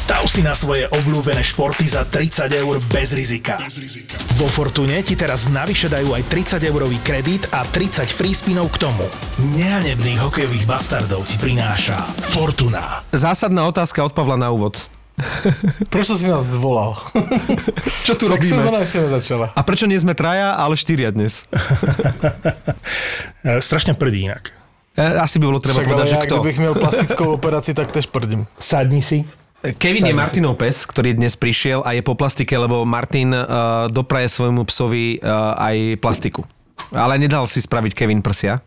Stav si na svoje obľúbené športy za 30 eur bez rizika. Vo Fortune ti teraz navyše dajú aj 30-eurový kredit a 30 free spinov k tomu. Nehanebných hokejových bastardov ti prináša Fortuna. Zásadná otázka od Pavla na úvod. Prečo si nás zvolal? Čo tu Však robíme? sezóna ešte nezačala. A prečo nie sme traja, ale 4 dnes? Strašne prdí inak. Asi by bolo treba Však povedať, že ale ja, kto. kdybych měl plastickou operaci, tak tež prdím. Sadni si. Kevin je Martinov pes, ktorý dnes prišiel a je po plastike, lebo Martin dopraje svojmu psovi aj plastiku. Ale nedal si spraviť Kevin prsia.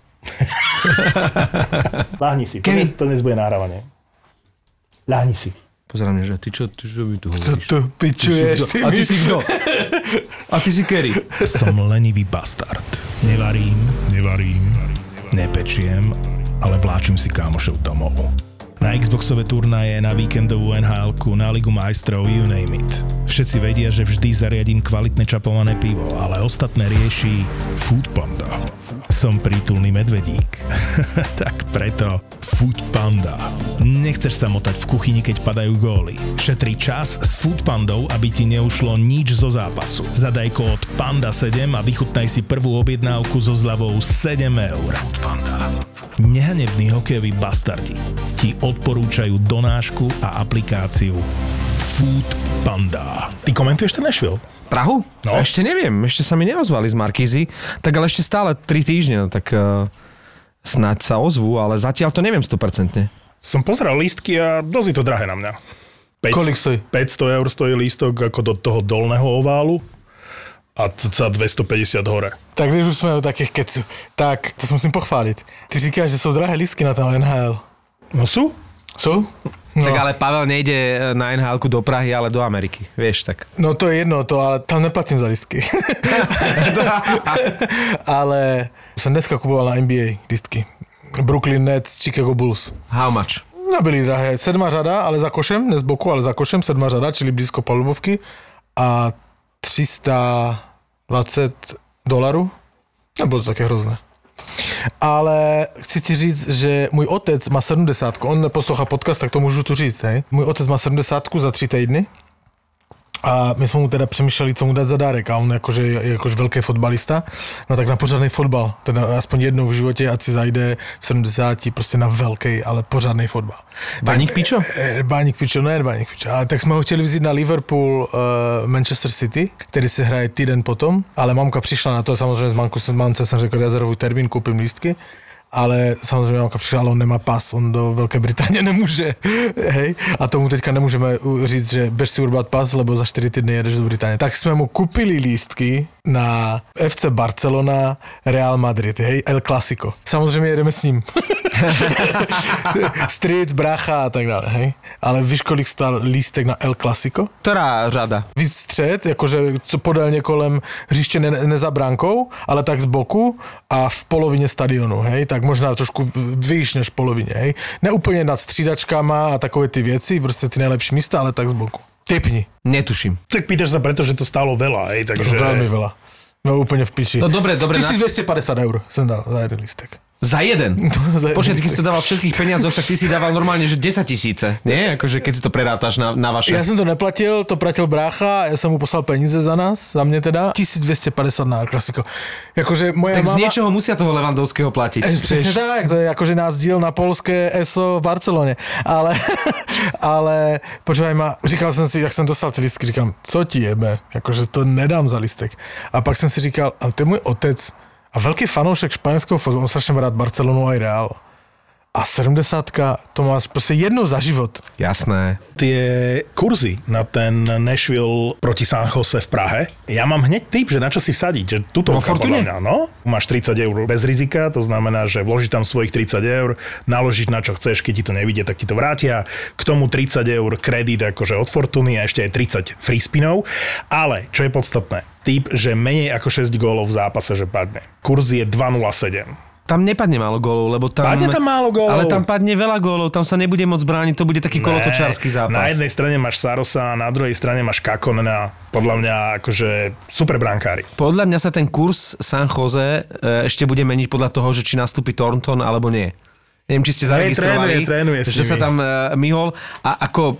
Láhni si. Kevin. To dnes bude nahrávanie. Láhni si. Pozerám, že ty čo by tu hovoríš? Co tu pičuješ? A ty si kto? A ty si Kerry. Som lenivý bastard. Nevarím, nepečiem, ale vláčim si kámošov domov. Na Xboxové turnaje, na víkendovú NHL-ku, na Ligu majstrov, you name it. Všetci vedia, že vždy zariadím kvalitné čapované pivo, ale ostatné rieši Foodpanda. Som prítulný medvedík. Tak preto Foodpanda. Nechceš sa motať v kuchyni, keď padajú góly. Šetri čas s Foodpandou, aby ti neušlo nič zo zápasu. Zadaj kód PANDA7 a vychutnaj si prvú objednávku so zľavou 7 eur. Foodpanda. Nehanební hokejoví bastardi ti odporúčajú donášku a aplikáciu Foodpanda. Ty komentuješ ten Nashville? Prahu? No. Ešte neviem, ešte sa mi neozvali z Markízy, tak ale ešte stále 3 týždne, no tak snáď sa ozvú, ale zatiaľ to neviem 100%. Som pozeral lístky a dosť je to drahé na mňa. Kolik stojí? 500 eur stojí lístok ako do toho dolného oválu a cca 250 hore. Tak když už jsme u takých keců, tak to se musím pochválit. Ty říkáš, že jsou drahé lístky na ten NHL. No sú? Jsou? No. Tak ale Pavel nejde na NHL-ku do Prahy, ale do Ameriky, vieš tak. No to je jedno, ale tam neplatím za lístky. Ale jsem dneska kupoval na NBA lístky. Brooklyn Nets, Chicago Bulls. How much? Nebyly drahé. 7 řada, ale za košem, ne z boku, ale za košem, 7 řada, čili blízko palubovky. A $320. Nebylo to také hrozné. Ale chci ti říct, že můj otec má 70, on neposlouchá podcast, tak to můžu tu říct, hej. Můj otec má 70 za 3 týdny a my jsme mu teda přemýšleli, co mu dát za dárek a on je jakož velký fotbalista, no tak na pořádnej fotbal, teda aspoň jednou v životě, ať si zajde v 70 prostě na velký, ale pořádnej fotbal. Baník Pičo? Baník Pičo, ne Baník Pičo, ale tak jsme ho chtěli vzít na Liverpool Manchester City, který se hraje týden potom, ale mamka přišla na to, samozřejmě z mamce jsem řekl rezervuj termín, koupím lístky. Ale samozřejmě mamka přišla, ale on nemá pas, on do Velké Británie nemůže, hej, a tomu teďka nemůžeme říct, že běž si urbat pas, lebo za 4 týdny jedeš do Británie. Tak jsme mu kupili lístky na FC Barcelona, Real Madrid, hej, El Clasico. Samozřejmě jedeme s ním. Stric, brácha a tak dále, hej. Ale víš, kolik stál lístek na El Clasico? Ktorá řada? Víc střed, jakože co podélně kolem hřiště ne za bránkou, ale tak z boku a v polovině stadionu, hej, tak možná trošku výš než v polovině, hej. Ne úplně nad střídačkama a takové ty věci, prostě ty nejlepší místa, ale tak z boku. Typni. Netuším. Tak pýtaš sa preto, že to stálo veľa, hej, takže... Veľmi veľa. No úplne v piči. No dobre. 1250 € som dal za jeden lístek. Za jeden? Počkaj, keď si to dával všetkých peniazoch, tak ty si dával normálne, že 10 000, nie? Akože keď si to prerátaš na vaše. Ja som to neplatil, to platil brácha, ja som mu poslal peníze za nás, za mne teda. 1250 na klasiko. Akože moja tak mama... z niečoho musia toho Levandovského platiť. Presne tak, to je akože nás diel na polské ESO v Barcelone. Ale počúvaj ma, říkal som si, jak som dostal tie listky, říkám, co ti jebe, akože to nedám za listek. A pak som si říkal, ale to je môj otec, a veľký fanoušek španielského fotbalu, on strašne rád Barcelonu aj Real. A 70-ka, to máš proste jednou za život. Jasné. Tie kurzy na ten Nashville proti San Jose v Prahe, ja mám hneď tip, že na čo si vsadiť, že tuto Fortune? No, máš 30 eur bez rizika, to znamená, že vložíš tam svojich 30 eur, naložíš na čo chceš, keď ti to nevidie, tak ti to vrátia. K tomu 30 eur kredit akože od Fortuny a ešte aj 30 free spinov. Ale, čo je podstatné, tip, že menej ako 6 gólov v zápase, že padne. Kurz je 2,07. Tam nepadne málo gólov, lebo tam... Padne tam málo gólov. Ale tam padne veľa gólov, tam sa nebude môcť brániť, to bude taký kolotočársky zápas. Na jednej strane máš Sarosa a na druhej strane máš Kakonena, podľa mňa akože super brankári. Podľa mňa sa ten kurz San Jose ešte bude meniť podľa toho, že či nastúpi Thornton alebo nie. Neviem, či ste zaregistrovali, trénuje že sa tam myhol a ako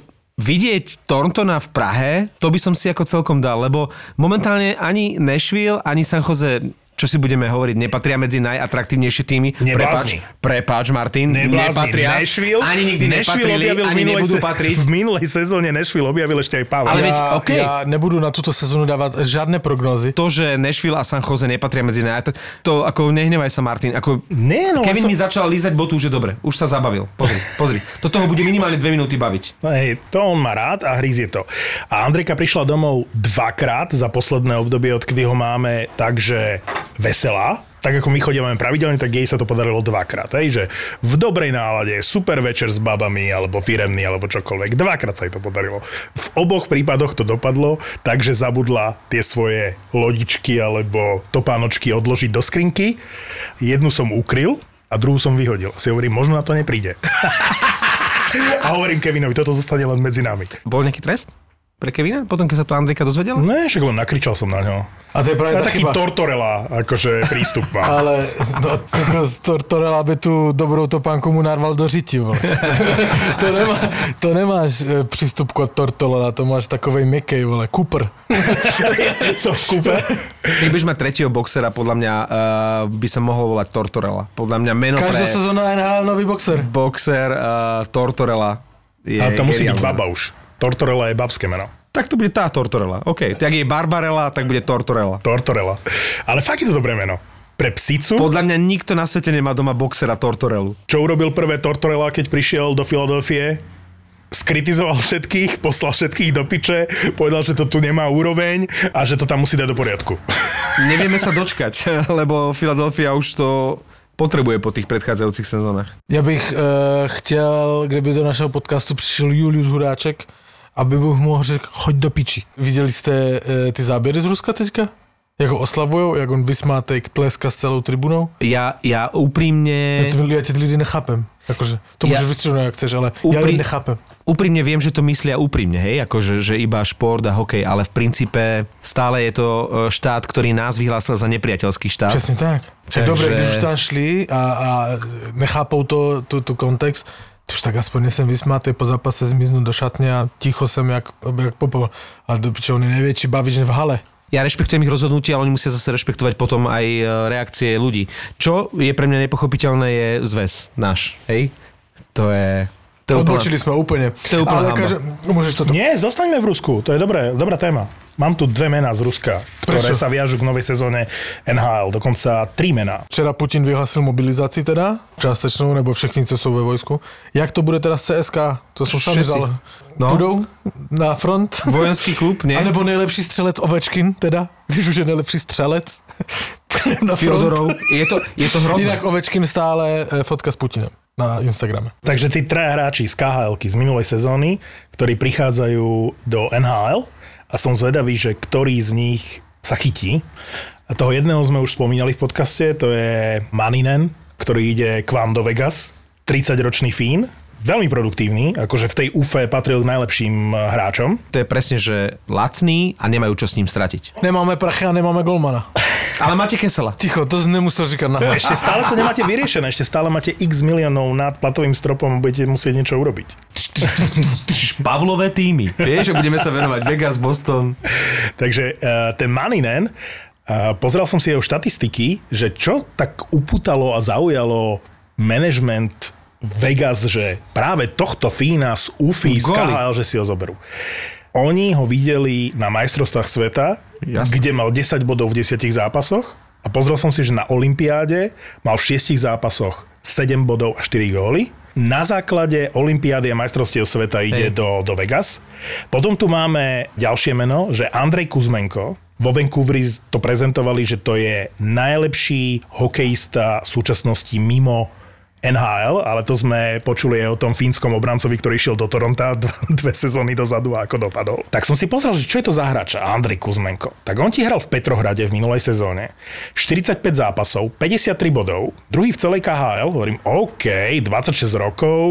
vidieť Thorntona v Prahe, to by som si ako celkom dal, lebo momentálne ani Nashville, ani San Jose, čo si budeme hovoriť, nepatria medzi najatraktívnejšie týmy. Prepáč, Martin. Nepatria. Nashville, ani nikdy nepatrili, ani nebudú patriť. V minulej sezóne Nashville objavil ešte aj Pavel. Ale Ja nebudu na túto sezónu dávať žiadne prognózy. To, že Nashville a San Jose nepatria medzi to ako nehnevaj sa, Martin. Ako Kevin mi začal lízať botu, už je dobre. Už sa zabavil. Pozri. Toto ho bude minimálne 2 minúty baviť. Hej, to on má rád a hryzie to. A Andrejka prišla domov 2-krát za posledné obdobie, odkedy ho máme, takže veselá. Tak ako my chodíme pravidelne, tak jej sa to podarilo 2-krát. Že v dobrej nálade, super večer s babami, alebo firemný, alebo čokoľvek. 2-krát sa jej to podarilo. V oboch prípadoch to dopadlo, takže zabudla tie svoje lodičky alebo topánočky odložiť do skrinky. Jednu som ukryl a druhú som vyhodil. Si hovorím, možno na to nepríde. A hovorím Kevinovi, toto zostane len medzi nami. Bol nejaký trest pre Kevina? Potom, keď sa to Andrejka dozvedela? Ne, však len nakričal som na ňo. A to je práve tá taký chyba. Tortorella, akože prístup má. Ale Tortorella by tú dobrou topánku mu narval do řiti. To nemáš prístup kod Tortorella, to máš takovej mekej, vole, Cooper. Som Cooper. Keď budeš mať tretieho boxera, podľa mňa by sa mohol volať Tortorella. Podľa mňa meno Každá pre... sezóna NHL nový boxer. Boxer Tortorella je... Ale to musí byť geniálne. baba už. Tortorella je babské meno. Tak to bude tá Tortorella. OK. Tak je Barbarella, tak bude Tortorella. Tortorella. Ale fakt je to dobré meno. Pre psicu, Podľa mňa nikto na svete nemá doma boxera Tortorellu. čo urobil prvé Tortorella, keď prišiel do Filadelfie, skritizoval všetkých, poslal všetkých do piče, povedal, že to tu nemá úroveň a že to tam musí dať do poriadku. Nevieme sa dočkať, lebo Philadelphia už to potrebuje po tých predchádzajúcich sezónach. Já bych chtěl, kdyby do našeho podcastu přišel Julius Huráček, aby bych mohl řekl, choď do piči. Viděli jste ty záběry z Ruska teďka? Jak ho oslavujou, jak on vysmátej tleska s celou tribunou? Ja úprimne... Ja ty lidi nechápem. Akože, to môžeš vystřelnúť, ak chceš, ale ja ich nechápem. Úprimne viem, že to myslia úprimne, hej, akože že iba šport a hokej, ale v princípe stále je to štát, ktorý nás vyhlásil za nepriateľský štát. Přesně tak. Takže... Dobre, když už tam šli a nechápou tu kontext, to už tak aspoň nesem vysmátej, po zápase zmiznú do šatne a ticho sem jak popol. Ale do piče, on je najväčší bavič v hale. Ja rešpektujem ich rozhodnutie, ale oni musia zase rešpektovať potom aj reakcie ľudí. Čo je pre mňa nepochopiteľné, je zväz náš, hej? To je Odbočili sme úplne. To je úplná hamba. Môžeš toto... Nie, zostaňme v Rusku, to je dobrá téma. Mám tu 2 mená z Ruska, ktoré Prečo? sa viažú k novej sezóne NHL, dokonca 3 mená. Včera Putin vyhlasil mobilizaci teda, částečnou, nebo všichni, co sú ve vojsku. Jak to bude teraz CSK? To sú sami Všetci. No. Budou na front? Vojenský klub, nie? A nebo nejlepší střelec Ovečkin teda, když už je nejlepší střelec na front. Fyodorov. Je to hrozné. Inak Ovečkin stále fotka s Putinem na Instagrame. Takže tí 3 hráči z KHL-ky z minulej sezóny, ktorí prichádzajú do NHL a som zvedavý, že ktorý z nich sa chytí. A toho jedného sme už spomínali v podcaste, to je Maninen, ktorý ide k vám do Vegas, 30-ročný Fín, veľmi produktívny, akože v tej UFE patril k najlepším hráčom. To je presne, že lacný a nemajú čo s ním stratiť. Nemáme prachy a nemáme golmana. Ale máte Kesela. Ticho, to nemusel říkať na hlas. Ešte stále to nemáte vyriešené, ešte stále máte x miliónov nad platovým stropom a budete musieť niečo urobiť. Pavlové týmy. Vieš, že budeme sa venovať Vegas, Boston. Takže ten Maninen, pozrel som si jeho štatistiky, že čo tak upútalo a zaujalo management Vegas, že práve tohto Fína z UFI, z KHL, že si ho zoberú. Oni ho videli na majstrovstvách sveta, kde mal 10 bodov v 10 zápasoch a pozrel som si, že na olympiáde mal v 6 zápasoch 7 bodov a 4 góly. Na základe olympiády a majstrovstiev sveta ide do Vegas. Potom tu máme ďalšie meno, že Andrej Kuzmenko. Vo Vancouveri to prezentovali, že to je najlepší hokejista v súčasnosti mimo NHL, ale to sme počuli aj o tom fínskom obrancovi, ktorý išiel do Toronta 2 sezóny dozadu a ako dopadol. Tak som si pozrel, že čo je to za hráč Andrej Kuzmenko. Tak on ti hral v Petrohrade v minulej sezóne. 45 zápasov, 53 bodov, druhý v celej KHL, hovorím OK, 26 rokov,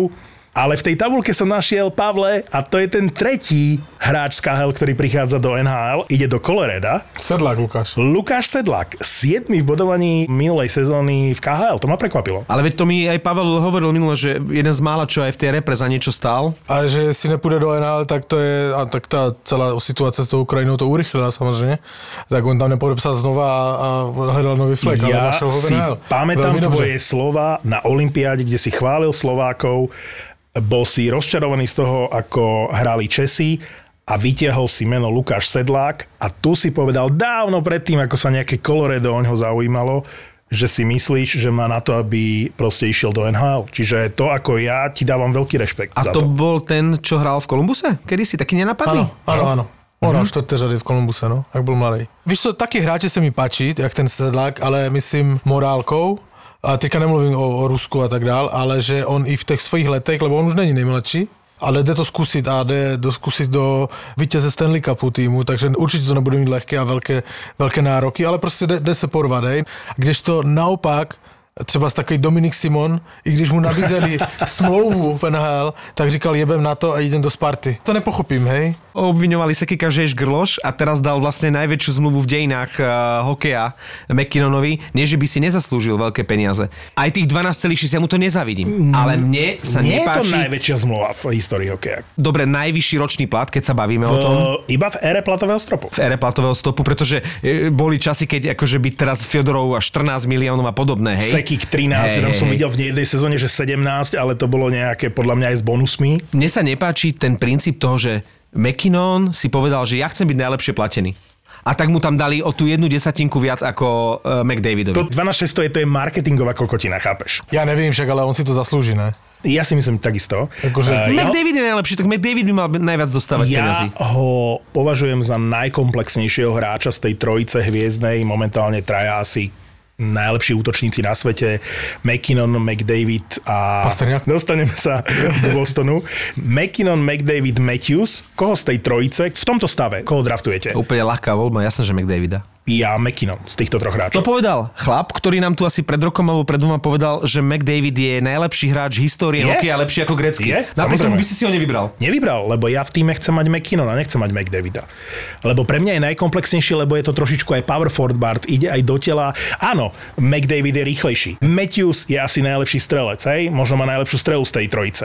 Ale v tej tabuľke som našiel, Pavle, a to je ten tretí hráč z KHL, ktorý prichádza do NHL. Ide do Colorada. Sedlák Lukáš. Lukáš Sedlák. 7. v bodovaní minulej sezóny v KHL. To ma prekvapilo. Ale veď to mi aj Pavel hovoril minule, že jeden z mála, čo aj v tej repre za niečo stál. A že si nepůjde do NHL, tak to je, a tak tá celá situácia s tou Ukrajinou to urychlila samozrejme. Tak on tam nepodepsal znova a hľadal nový flek. Ja si pamätám tvoje slova na olympiáde, kde si chválil Slovákov. Bol si rozčarovaný z toho, ako hrali Česi a vytiahol si meno Lukáš Sedlák a tu si povedal dávno predtým, ako sa nejaké Colorado o ňoho zaujímalo, že si myslíš, že má na to, aby proste išiel do NHL. Čiže to, ako ja, ti dávam veľký rešpekt za to. A to bol ten, čo hral v Kolumbuse? Kedy si taký nenapadný? Áno. On hral 4. řady v Kolumbuse, no, ak bol mladý. Víš co, taký hráči sa mi páči, jak ten Sedlák, ale myslím morálkou. A teďka nemluvím o Rusku a tak dál, ale že on i v těch svých letech, lebo on už není nejmladší, ale jde to zkusit a jde zkusit do vítěze Stanley Cupu týmu, takže určitě to nebude mít lehké a velké nároky, ale prostě jde se porvat, hej. Když to naopak, třeba takový Dominik Simon, i když mu nabízeli smlouvu v NHL, tak říkal jebem na to a idem do Sparty. To nepochopím, hej. Obviňovali Sekika, že je žgrloš a teraz dal vlastne najväčšiu zmluvu v dejinách hokeja McKinnonovi, nie že by si nezaslúžil veľké peniaze. Aj tých 12,6 ja mu to nezavidím. Ale mne sa nepáči... Nie je to najväčšia zmluva v histórii hokeja. Dobre, najvyšší ročný plat, keď sa bavíme o tom. Iba v ére platového stropu. V ére platového stopu, pretože boli časy, keď akože by teraz Fjodorov až 14 miliónov a podobné, hej. Sekik 13, som videl v jednej sezóne, že 17, ale to bolo nejaké podľa mňa aj s bonusmi. Mne sa nepáči ten princíp toho, že McKinnon si povedal, že ja chcem byť najlepšie platený. A tak mu tam dali o tú 1/10 viac ako McDavidovi. To 12,600 to je marketingová kokotina, chápeš? Ja neviem však, ale on si to zaslúži, ne? Ja si myslím takisto. McDavid je najlepší, tak McDavid by mal najviac dostávať peniazy. Ja ho považujem za najkomplexnejšieho hráča z tej trojice hviezdnej. Momentálne traja asi najlepší útočníci na svete, McKinnon, McDavid a... Pasterňák. Dostaneme sa do Bostonu. McKinnon, McDavid, Matthews. Koho z tej trojice v tomto stave? Koho draftujete? Úplne ľahká voľba, jasné, že McDavida. Ja McKinnon z týchto troch hráčov. To povedal chlap, ktorý nám tu asi pred rokom alebo pred dvoma povedal, že McDavid je najlepší hráč histórie hokeja, lepší ako Gretzky. Napriek tomu by si ho nevybral. Nevybral, lebo ja v týme chcem mať McKinnona, nechcem mať McDavida. Lebo pre mňa je najkomplexnejšie, lebo je to trošičku aj power forward, ide aj do tela. Áno, McDavid je rýchlejší. Matthews je asi najlepší strelec, hej? Možno má najlepšiu strelu z tej trojice.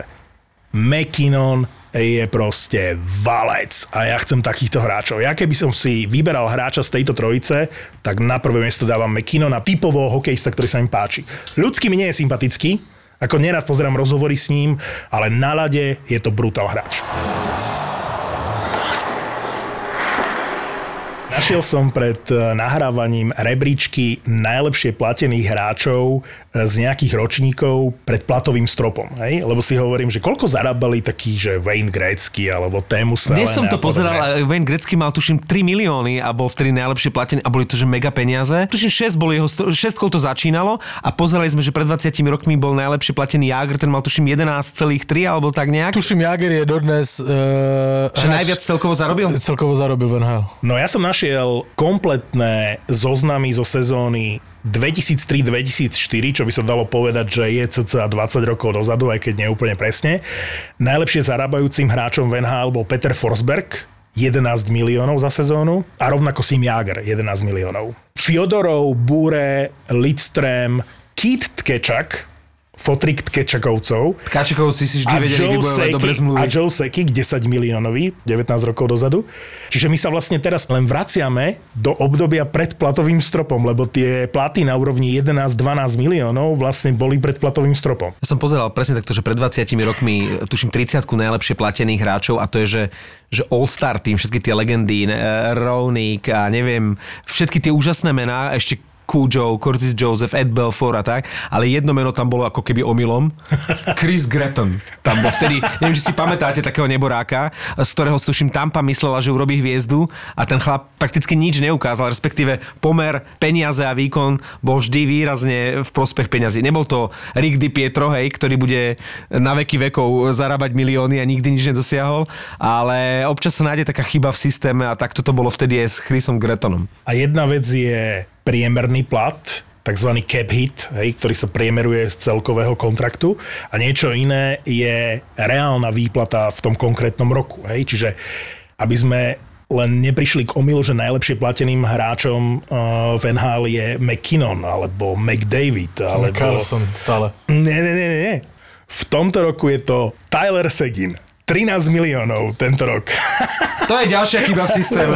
McKinnon je proste valec a ja chcem takýchto hráčov. Ja keby som si vyberal hráča z tejto trojice, tak na prvé miesto dávam McKinnona, typovo hokejista, ktorý sa mi páči. Ľudský mi nie je sympatický, ako nerad pozerám rozhovory s ním, ale na ľade je to brutál hráč. Našiel som pred nahrávaním rebríčky najlepšie platených hráčov z nejakých ročníkov pred platovým stropom. Hej? Lebo si hovorím, že koľko zarábali takí, že Wayne Gretzky alebo Teemu Selene. Dnes som to pozeral, Wayne Gretzky mal tuším 3 milióny a bol vtedy najlepšie platený a boli to že mega peniaze. Tuším 6 bol jeho, 6 to začínalo a pozerali sme, že pred 20 rokmi bol najlepšie platený Jágr, ten mal tuším 11,3 alebo tak nejak. Tuším Jágr je dodnes... že najviac celkovo zarobil? Celkovo zarobil v NHL. No ja som našiel kompletné zoznamy zo sezóny 2003-2004, čo by sa dalo povedať, že je cca 20 rokov dozadu, aj keď nie úplne presne. Najlepšie zarábajúcim hráčom v NHL bol Peter Forsberg, 11 miliónov za sezónu a rovnako Sim Jágr, 11 miliónov. Fjodorov, Bure, Lidström, Keith Tkečak, fotrik Tkečakovcov. Tkačakovci si vždy vedeli vybojovať dobre zmluvy. A Joe Sakic, 10 miliónový, 19 rokov dozadu. Čiže my sa vlastne teraz len vraciame do obdobia pred platovým stropom, lebo tie platy na úrovni 11-12 miliónov vlastne boli pred platovým stropom. Ja som pozeral presne takto, že pred 20 rokmi tuším 30 najlepšie platených hráčov a to je, že All-Star tým, všetky tie legendy, Roenick a neviem, všetky tie úžasné mená, ešte Cujo, Curtis Joseph, Ed Belfour a tak, ale jedno meno tam bolo ako keby omylom. Chris Gretton. Tam bol vtedy, neviem, či si pamätáte takého neboráka, z ktorého tuším Tampa myslela, že urobí hviezdu a ten chlap prakticky nič neukázal, respektíve pomer peniaze a výkon bol vždy výrazne v prospech peňazí. Nebol to Rick DiPietro, hej, ktorý bude na veky vekov zarábať milióny a nikdy nič nedosiahol, ale občas sa nájde taká chyba v systéme a takto to bolo vtedy aj s Chrisom Grettonom. A jedna vec je priemerný plat tzv. Cap hit, hej, ktorý sa priemeruje z celkového kontraktu a niečo iné je reálna výplata v tom konkrétnom roku. Hej. Čiže aby sme len neprišli k omylu, že najlepšie plateným hráčom v NHL je McKinnon alebo McDavid. Alebo Carlson stále. Nie. V tomto roku je to Tyler Seguin. 13 miliónov tento rok. To je ďalšia chyba v systéme.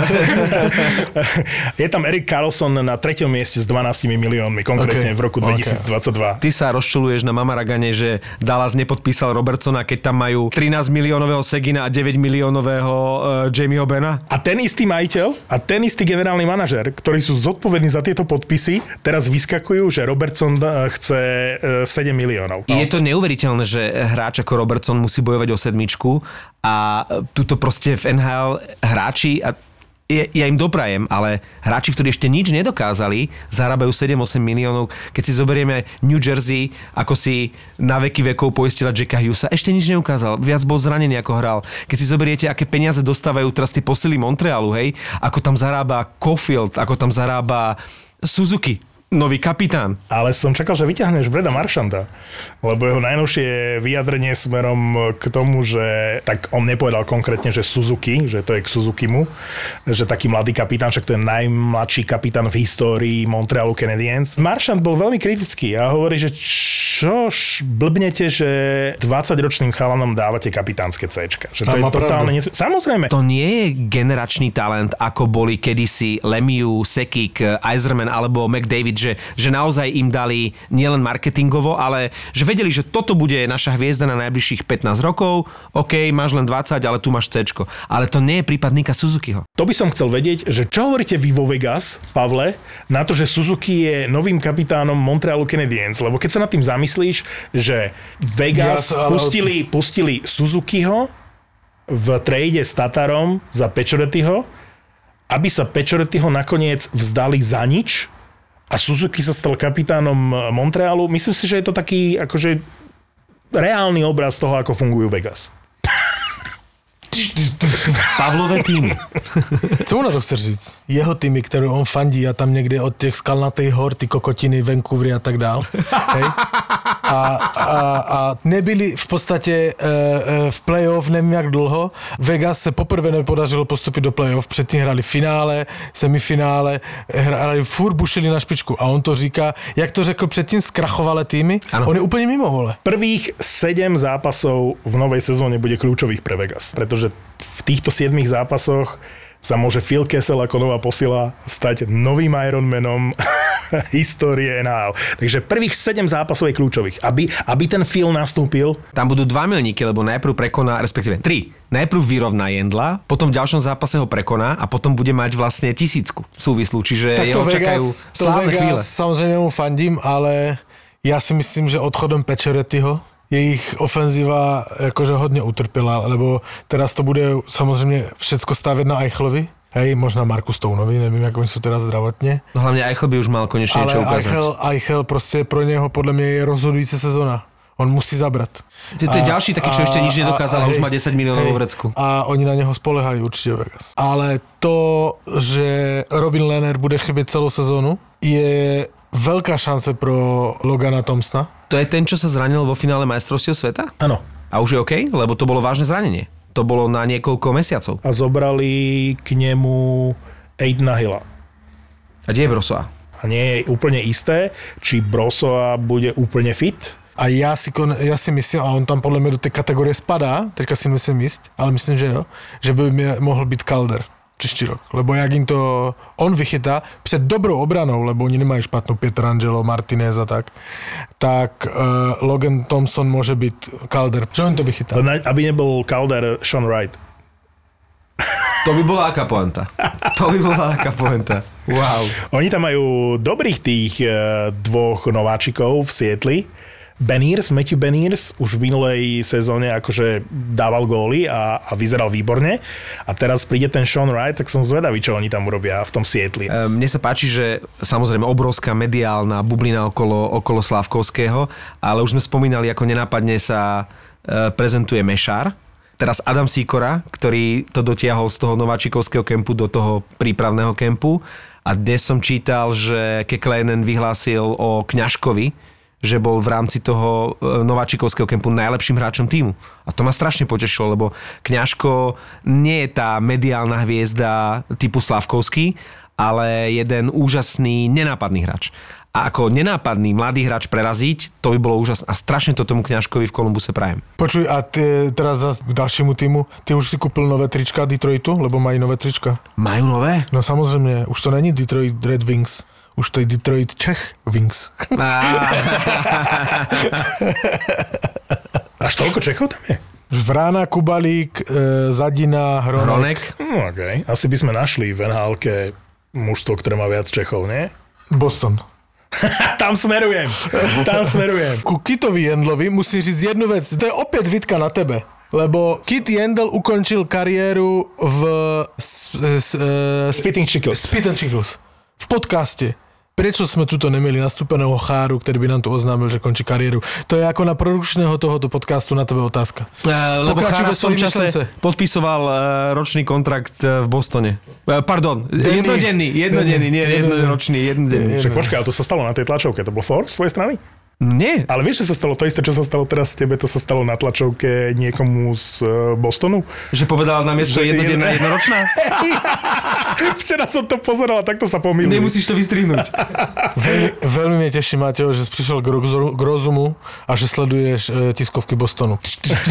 Je tam Erik Karlsson na 3. mieste s 12 miliónmi, konkrétne v roku 2022. Ty sa rozčuluješ na Mamaragane, že Dallas nepodpísal Robertsona, keď tam majú 13 miliónového Segina a 9 miliónového Jamieho Bena? A ten istý majiteľ a ten istý generálny manažer, ktorí sú zodpovední za tieto podpisy, teraz vyskakujú, že Robertson chce 7 miliónov. Je to neuveriteľné, že hráč ako Robertson musí bojovať o sedmičku a tuto proste v NHL hráči, a ja im doprajem, ale hráči, ktorí ešte nič nedokázali, zarábajú 7-8 miliónov. Keď si zoberieme New Jersey, ako si na veky vekov poistila Jacka Hughesa, ešte nič neukázal. Viac bol zranený, ako hral. Keď si zoberiete, aké peniaze dostávajú teraz tí posily Montrealu, hej, ako tam zarába Caulfield, ako tam zarába Suzuki, nový kapitán. Ale som čakal, že vyťahneš Breda Marchanda, lebo jeho najnovšie vyjadrenie smerom k tomu, že tak on nepovedal konkrétne, že Suzuki, že to je k Suzukimu, že taký mladý kapitán, však to je najmladší kapitán v histórii Montrealu Canadiens. Marchand bol veľmi kritický a hovorí, že čož blbnete, že 20-ročným chalanom dávate kapitánske Cčka. Že to je totálne Samozrejme. To nie je generačný talent, ako boli kedysi Lemieux, Sekik, Yzerman alebo McDavid, že naozaj im dali nielen marketingovo, ale že vedeli, že toto bude naša hviezda na najbližších 15 rokov. OK, máš len 20, ale tu máš Cčko. Ale to nie je prípad Nika Suzukiho. To by som chcel vedieť, že čo hovoríte vy vo Vegas, Pavle, na to, že Suzuki je novým kapitánom Montrealu Canadiens, lebo keď sa nad tým zamyslíš, že Vegas pustili Suzukiho v trade s Tatarom za Paciorettyho, aby sa Paciorettyho nakoniec vzdali za nič, a Suzuki sa stal kapitánom Montrealu. Myslím si, že je to taký akože reálny obraz toho, ako fungujú Vegas. Pavlové týmy. Co mu na to chceš říct? Jeho týmy, které on fandí a tam někde od těch skalnatých hor, ty kokotiny, Vancouvery a tak dál. Hej? A nebyli v podstatě v playoff nevím jak dlouho. Vegas se poprvé nepodařilo postupit do playoff, předtím hrali finále, semifinále, furt bušili na špičku a on to říká, jak to řekl předtím, zkrachovalé týmy, ano. On je úplně mimo, vole. Prvých 7 zápasov v novej sezóne bude kľúčových pre Vegas, pretože v týchto 7 zápasoch sa môže Phil Kessel ako nová posila stať novým Ironmanom histórie NHL. Takže prvých 7 zápasov je kľúčových. Aby ten Phil nastúpil. Tam budú 2 milníky, lebo najprv prekoná, respektíve 3. Najprv vyrovná Jendla, potom v ďalšom zápase ho prekoná a potom bude mať vlastne 1000 súvislú. Čiže tak jeho čakajú slávne chvíle. Samozrejme mu fandím, ale ja si myslím, že odchodom Paciorettyho jejich ofenzíva jakože hodně utrpěla, lebo teraz to bude samozřejmě všecko stavět na Eichelovi. Hej, možná Marku Stounovi, nevím, jak oni jsou teda zdravotně. No hlavně Eichel by už mal konečně něco ukázat. Eichel prostě pro něho podle mě je rozhodující sezona. On musí zabrat. To je ďalší taký, čo ešte nič nedokázal a už má 10 miliónov vo vrecku. A oni na neho spolehají určitě Vegas. Ale to, že Robin Lehner bude chybět celou sezónu, je veľká šance pro Logana Thompsona. To je ten, čo sa zranil vo finále majstrovstiev sveta? Áno. A už je OK? Lebo to bolo vážne zranenie. To bolo na niekoľko mesiacov. A zobrali k nemu Aidena Hilla. A kde je Brossoa? A nie je úplne isté, či Brossoa bude úplne fit. A já si myslím, a on tam podle mě do té kategorie spadá, teďka si myslím jist, ale myslím, že jo, že by mohl být Calder příští rok. Lebo jak jim to on vychytá před dobrou obranou, lebo oni nemají špatnou Pietrangelo, Martinez a tak Logan Thompson může být Calder. Čo on to vychytá? Aby nebol Calder, Sean Wright. To by bola aká pointa. Wow. Oni tam majú dobrých tých 2 nováčikov v Sietli. Matthew Beniers už v minulej sezóne akože dával góly a vyzeral výborne. A teraz príde ten Sean Wright, tak som zvedavý, čo oni tam urobia v tom Sietli. Mne sa páči, že samozrejme obrovská mediálna bublina okolo Slávkovského, ale už sme spomínali, ako nenápadne sa prezentuje Mešár. Teraz Adam Sýkora, ktorý to dotiahol z toho nováčikovského kempu do toho prípravného kempu. A dnes som čítal, že Kekäläinen vyhlásil o Kňažkovi, že bol v rámci toho nováčikovského kempu najlepším hráčom tímu. A to ma strašne potešilo, lebo Kňažko nie je tá mediálna hviezda typu Slavkovský, ale jeden úžasný, nenápadný hráč. A ako nenápadný mladý hráč preraziť, to by bolo úžasné. A strašne to tomu Kňažkovi v Kolumbuse prajem. Počuj, a ty, teraz zase k ďalšiemu týmu, ty už si kúpil nové trička Detroitu, lebo mají nové trička. Majú nové? No samozrejme, už to není Detroit Red Wings, už to je Detroit Czech Wings. Až toľko Čechov tam je? Vrána, Kubalík, Zadina, Hronek. Okay. Asi by sme našli v NHL-ke mužstvo, ktoré má viac Čechov, nie? Boston. Tam smerujem. Ku Kitovi Jendlovi musím říct jednu vec. To je opäť Vitka na tebe. Lebo Kit Jendl ukončil kariéru v Spitting Chicklets. V podcaste. Prečo sme tuto nemeli nastúpeného Cháru, ktorý by nám tu oznámil, že končí kariéru? To je ako na produkčného tohoto podcastu na tebe otázka. Lebo Chára v tom čase podpisoval ročný kontrakt v Bostone. Pardon, jednodenný, nie jednoročný, jednodenný. Však počkaj, ale to sa stalo na tej tlačovke, to bol for z tvojej strany? Nie. Ale vieš, že sa stalo to isté, čo sa stalo teraz s tebe, to sa stalo na tlačovke niekomu z Bostonu? Že povedal na miesto jednodenná, jednoročná? Včera som to pozeral a takto sa pomýlil. Nemusíš to vystrihnúť. Veľmi mi teší, Mateo, že si prišiel k rozumu a že sleduješ tiskovky Bostonu.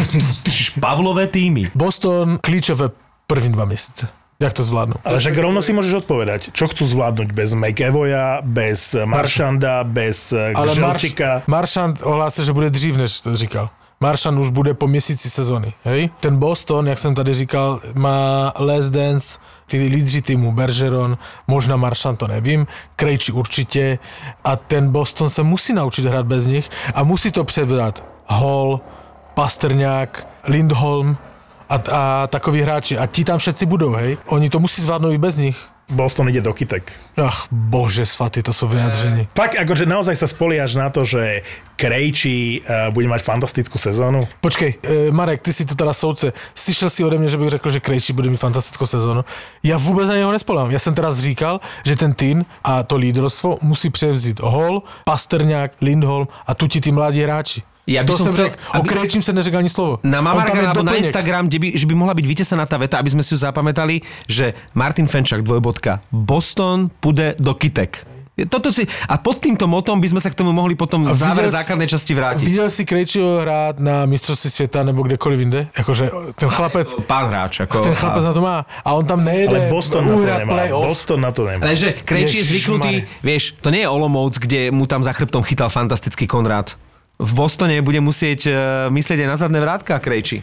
Pavlové týmy. Boston klíčové první 2 mesiace. Jak to zvládnu? Ale však rovno si môžeš odpovedať, čo chcú zvládnuť bez McEvoya, bez Marchanda, bez Želčika. Marchand ohlásil, že bude dřív, než to říkal. Marchand už bude po měsíci sezony. Hej? Ten Boston, jak jsem tady říkal, má Last Dance, ty lídři týmu, Bergeron, možná Marchand, to nevím, Krejči určitě. A ten Boston se musí naučit hrát bez nich a musí to převzat Hall, Pastrňák, Lindholm, a takoví hráči. A ti tam všetci budou, hej? Oni to musí zvládnout i bez nich. Boston ide do kytek. Ach, bože svatý, to sú vyjadrení. Fakt, akože naozaj sa spoliaš na to, že Krejči bude mať fantastickú sezónu? Počkej, Marek, ty si to teda soudce. Slyšel si ode mňa, že bych řekl, že Krejči bude mít fantastickou sezónu. Ja vôbec na neho nespolám. Ja som teraz říkal, že ten tým a to lídrovstvo musí převzít Hall, Pastrňák, Lindholm a tu ti tí mladí hráči. Ja by som chcel, o Krejčím sa neřekl ani slovo. Na Mamarka alebo na Instagram, že by mohla byť vytesaná tá veta, aby sme si ju zapamätali, že Martin Fenčák, Boston pôjde do kytek. A pod týmto motom by sme sa k tomu mohli potom v závere základnej časti vrátiť. Videl si Krejčího hrát na mistrovství sveta nebo kdekoliv inde? Akože ten chlapec... Pán hráč. Ten chlapec na to má. A on tam nejede uhrať play-off. Boston na to nemá. Lenže Krejčí je zvyknutý, vieš, to nie je Olomouc, kde mu tam za chrbtom chytal fantastický Konrád. V Bostone bude musieť myslieť aj na zadné vrátka Krejči.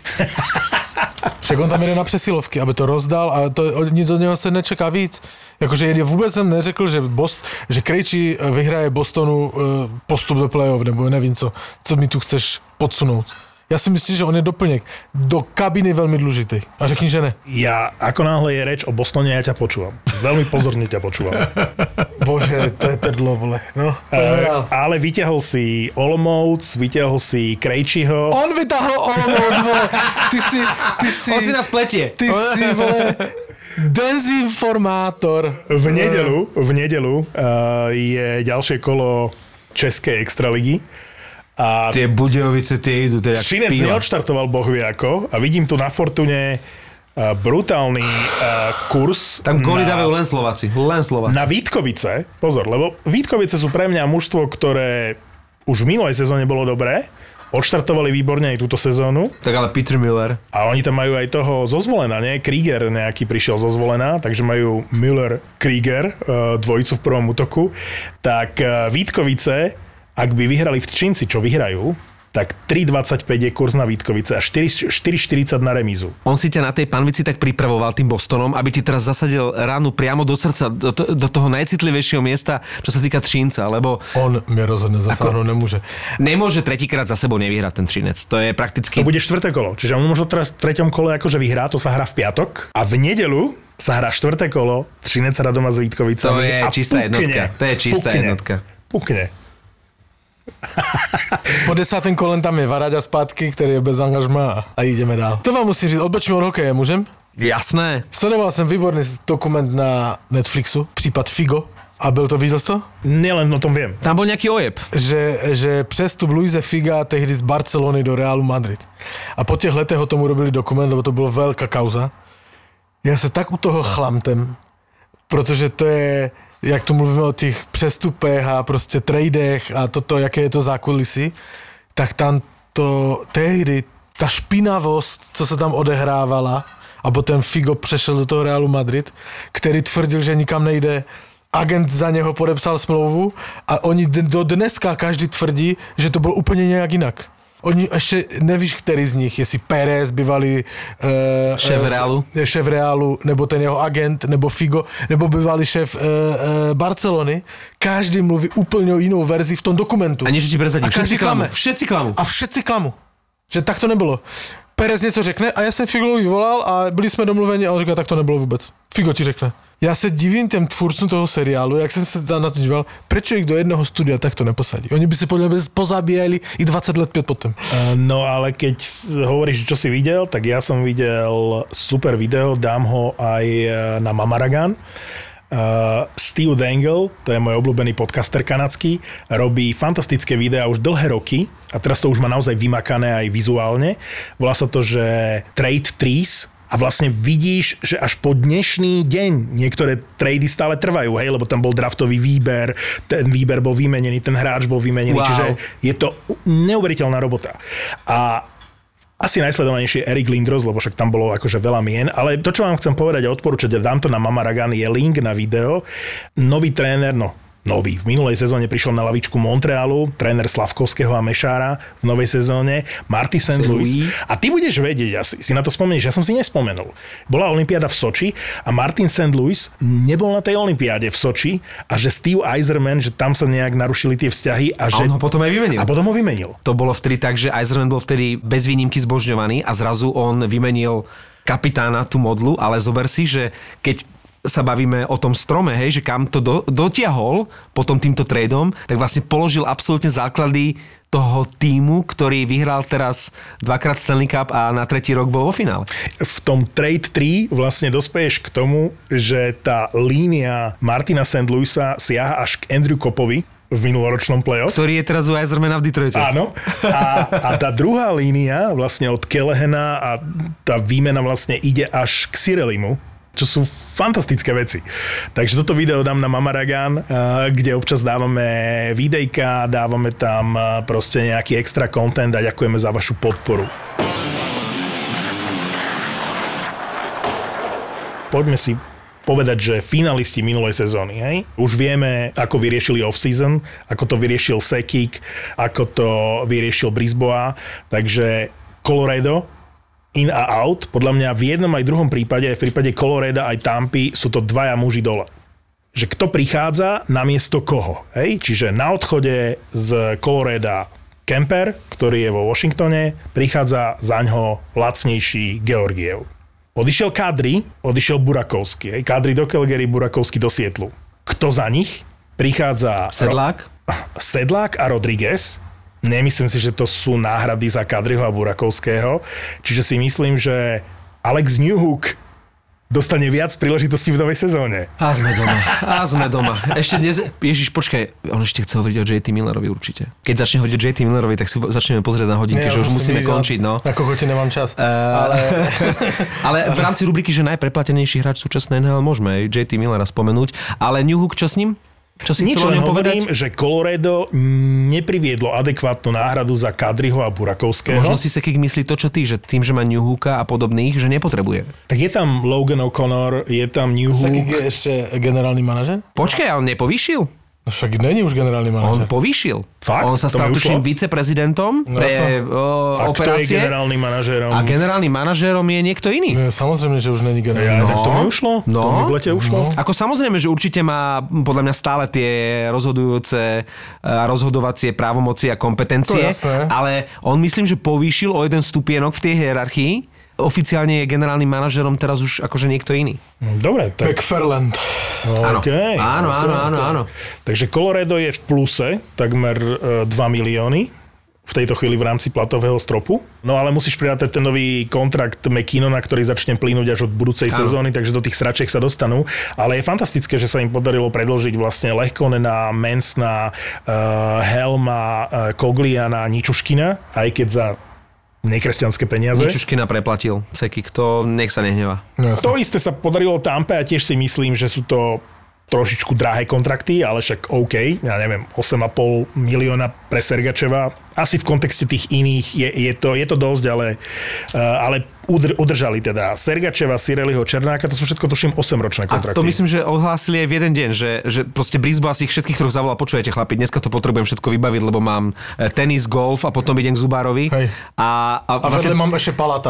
Však on tam jede na přesilovky, aby to rozdal a to, nic od něho se nečeká víc. Jakože vůbec jsem neřekl, že Krejčí vyhraje Bostonu postup do play-off, nebo nevím co mi tu chceš podsunout. Ja si myslím, že on je doplněk. Do kabiny veľmi dôležitý. A řekni, že ne. Ja, ako náhle je reč o Bostone, ja ťa počúvam. Veľmi pozorne ťa počúvam. Bože, to je prdlo, vole. No, ale vyťahol si Olomouc, vyťahol si Krejčiho. On vyťahol Olomouc, vole. Ty si... On si nás pletie. Ty si, vole... Dezinformátor. V nedelu je ďalšie kolo Českej extraligy. A tie Budějovice, tie idú, to je jak Třinec píla. neodštartoval bohvie ako a vidím tu na Fortune brutálny kurz. Tam góly dávajú len Slováci. Na Vítkovice, pozor, lebo Vítkovice sú pre mňa mužstvo, ktoré už v minulej sezóne bolo dobré, odštartovali výborne aj túto sezónu. Tak ale Peter Miller. A oni tam majú aj toho zo Zvolena, nie? Krieger nejaký prišiel zo Zvolena, takže majú Miller-Krieger, dvojicu v prvom útoku. Tak Vítkovice, ak by vyhrali v Třinci, čo vyhrajú, tak 3,25 je kurz na Vítkovice a 4,40 na remízu. On si ťa na tej panvici tak pripravoval tým Bostonom, aby ti teraz zasadil ránu priamo do srdca, do toho najcitlivejšieho miesta, čo sa týka Třinca, lebo... On mi rozhodne zasáhnuť nemôže. Nemôže tretíkrát za sebou nevyhrať ten Třinec. To je prakticky... To bude štvrté kolo. Čiže on možno teraz v treťom kole akože vyhrá, to sa hrá v piatok a v nedelu sa hrá štvrté kolo, Třinec hrá doma s Vítkovicami. To je čistá jednotka. To je čistá jednotka. Pukne. Po 10. kolem tam je Varaďa zpátky, ktorý je bez angažma a ideme dál. To vám musím říct, odbočím od hokeje, môžem? Jasné. Sledoval jsem výborný dokument na Netflixu, případ Figo. A byl to, viděl jsi to? Nielen o tom viem. Tam bol nejaký ojeb. Že přestup Luise Figa tehdy z Barcelony do Realu Madrid. A po těch letech o tomu robili dokument, lebo to byla velká kauza. Já se tak u toho chlamtem, protože to je, jak tu mluvíme o těch přestupech a prostě tradech a toto, jaké je to zákulisí, tak tam to tehdy, ta špinavost, co se tam odehrávala, a potom Figo přešel do toho Realu Madrid, který tvrdil, že nikam nejde, agent za něho podepsal smlouvu a oni do dneska každý tvrdí, že to bylo úplně nějak jinak. Oni ještě nevíš, který z nich, jestli Pérez, bývalý šéf Realu, nebo ten jeho agent, nebo Figo, nebo bývalý šéf Barcelony. Každý mluví úplně o jinou verzi v tom dokumentu. A než ti prezadím, všetci klamu. A všetci klamu. Že tak to nebylo. Pérez něco řekne a já jsem Figovi volal a byli jsme domluveni a on říká, tak to nebylo vůbec. Figo ti řekne. Já se divím těm tvůrcům toho seriálu, jak jsem se na to díval, prečo ich do jednoho studia takto neposadí. Oni by si podľa mňa pozabíjali i 20 let pět potom. No ale keď hovoríš, čo si videl, tak ja som videl super video, dám ho aj na Mamaragan. Steve Dangle, to je môj obľúbený podcaster kanadský, robí fantastické videá už dlhé roky a teraz to už má naozaj vymakané aj vizuálne. Volá sa to, že Trade Trees. A vlastne vidíš, že až po dnešný deň niektoré trady stále trvajú, hej, lebo tam bol draftový výber, ten výber bol vymenený, ten hráč bol vymenený, čiže je to neuveriteľná robota. A asi najsledovanejší je Erik Lindros, lebo však tam bolo akože veľa mien, ale to, čo vám chcem povedať a odporúčať, dám to na Mamaragan, je link na video. Nový tréner, nový. V minulej sezóne prišiel na lavičku Montrealu, tréner Slavkovského a Mešára v novej sezóne, Marty St. Louis. A ty budeš vedieť, si na to spomenieš, ja som si nespomenul. Bola olympiáda v Soči a Martin St. Louis nebol na tej olympiáde v Soči a že Steve Yzerman, že tam sa nejak narušili tie vzťahy a že... A on ho potom aj vymenil. A potom ho vymenil. To bolo vtedy tak, že Yzerman bol vtedy bez výnimky zbožňovaný a zrazu on vymenil kapitána tú modlu, ale zober si, že keď sa bavíme o tom strome, hej, že kam to dotiahol potom týmto tradeom, tak vlastne položil absolútne základy toho tímu, ktorý vyhral teraz dvakrát Stanley Cup a na tretí rok bol vo finále. V tom Trade 3 vlastne dospeješ k tomu, že tá línia Martina St. Louisa siaha až k Andrew Coppovi v minuloročnom playoff. Ktorý je teraz u Yzermana v Detroite. Áno. A tá druhá línia vlastne od Kelehena a tá výmena vlastne ide až k Cirelimu, čo sú fantastické veci. Takže toto video dám na Mamaragan, kde občas dávame videjka, dávame tam proste nejaký extra content a ďakujeme za vašu podporu. Poďme si povedať, že finalisti minulej sezóny, hej? Už vieme, ako vyriešili off-season, ako to vyriešil Sekik, ako to vyriešil Brisbois, takže Colorado in a out. Podľa mňa v jednom aj druhom prípade, aj v prípade Colorada aj Tampy, sú to dvaja muži dole. Že kto prichádza namiesto koho. Hej? Čiže na odchode z Colorada Kemper, ktorý je vo Washingtone, prichádza zaňho lacnejší Georgiev. Odišiel Kadri, odišiel Burakovský. Hej? Kadri do Calgary, Burakovský do Sietlu. Kto za nich? Prichádza Sedlák a Rodriguez. Nemyslím si, že to sú náhrady za Kadriho a Burakovského. Čiže si myslím, že Alex Newhook dostane viac príležitostí v novej sezóne. A sme doma. Ešte dnes... Ježiš, počkaj, on ešte chce hovoriť o JT Millerovi určite. Keď začne hovoriť o JT Millerovi, tak si začneme pozrieť na hodinky, že už musíme končiť, no. Na kokote nemám čas. Ale v rámci rubriky, že najpreplatenejší hráč súčasnej NHL môžeme aj JT Millera spomenúť. Ale Newhook, čo s ním? Čo si chcel o ňom povedať? Že Colorado nepriviedlo adekvátnu náhradu za Kadriho a Burakovského. Možno si Sekik myslí to, čo ty, že tým, že má Newhooka a podobných, že nepotrebuje. Tak je tam Logan O'Connor, je tam Newhook. Sekik je ešte generálny manažer? Počkaj, on nepovýšil? No však není už generálny manažer. On povýšil. Fakt? On sa stal tuším viceprezidentom pre a operácie. Kto je generálnym manažérom? A generálnym manažérom je niekto iný. No, samozrejme, že už není generálny. Tak to mi ušlo? To mi v lete ušlo? Ako samozrejme, že určite má podľa mňa stále tie rozhodujúce a rozhodovacie právomoci a kompetencie. Ale on myslím, že povýšil o jeden stupienok v tej hierarchii. Oficiálne je generálnym manažerom teraz už akože niekto iný. Dobre. Tak... McFarland. Okay, áno. Takže Colorado je v pluse takmer 2 milióny v tejto chvíli v rámci platového stropu. No ale musíš prirátať ten nový kontrakt McKinnona, ktorý začne plynúť až od budúcej sezóny, takže do tých sračiek sa dostanú. Ale je fantastické, že sa im podarilo predĺžiť vlastne Lehkonena, Mansona, Helma, Cogliana, Ničuškina, aj keď za nekresťanské peniaze. Ničuškina preplatil Cekik, to nech sa nehnevá. No, to isté sa podarilo Tampe a tiež si myslím, že sú to trošičku drahé kontrakty, ale však OK, ja neviem, 8,5 milióna pre Sergačeva. Asi v kontexte tých iných je to dosť, ale udržali teda Sergačeva, Cirelliho, Černáka, to sú všetko tuším 8-ročné kontrakty. A to myslím, že ohlásili aj v jeden deň, že proste Brisbane asi ich všetkých troch zavolal, počujete chlapi, dneska to potrebujem všetko vybaviť, lebo mám tenis, golf a potom idem k Zubárovi. A vlastne mám ešte Palata.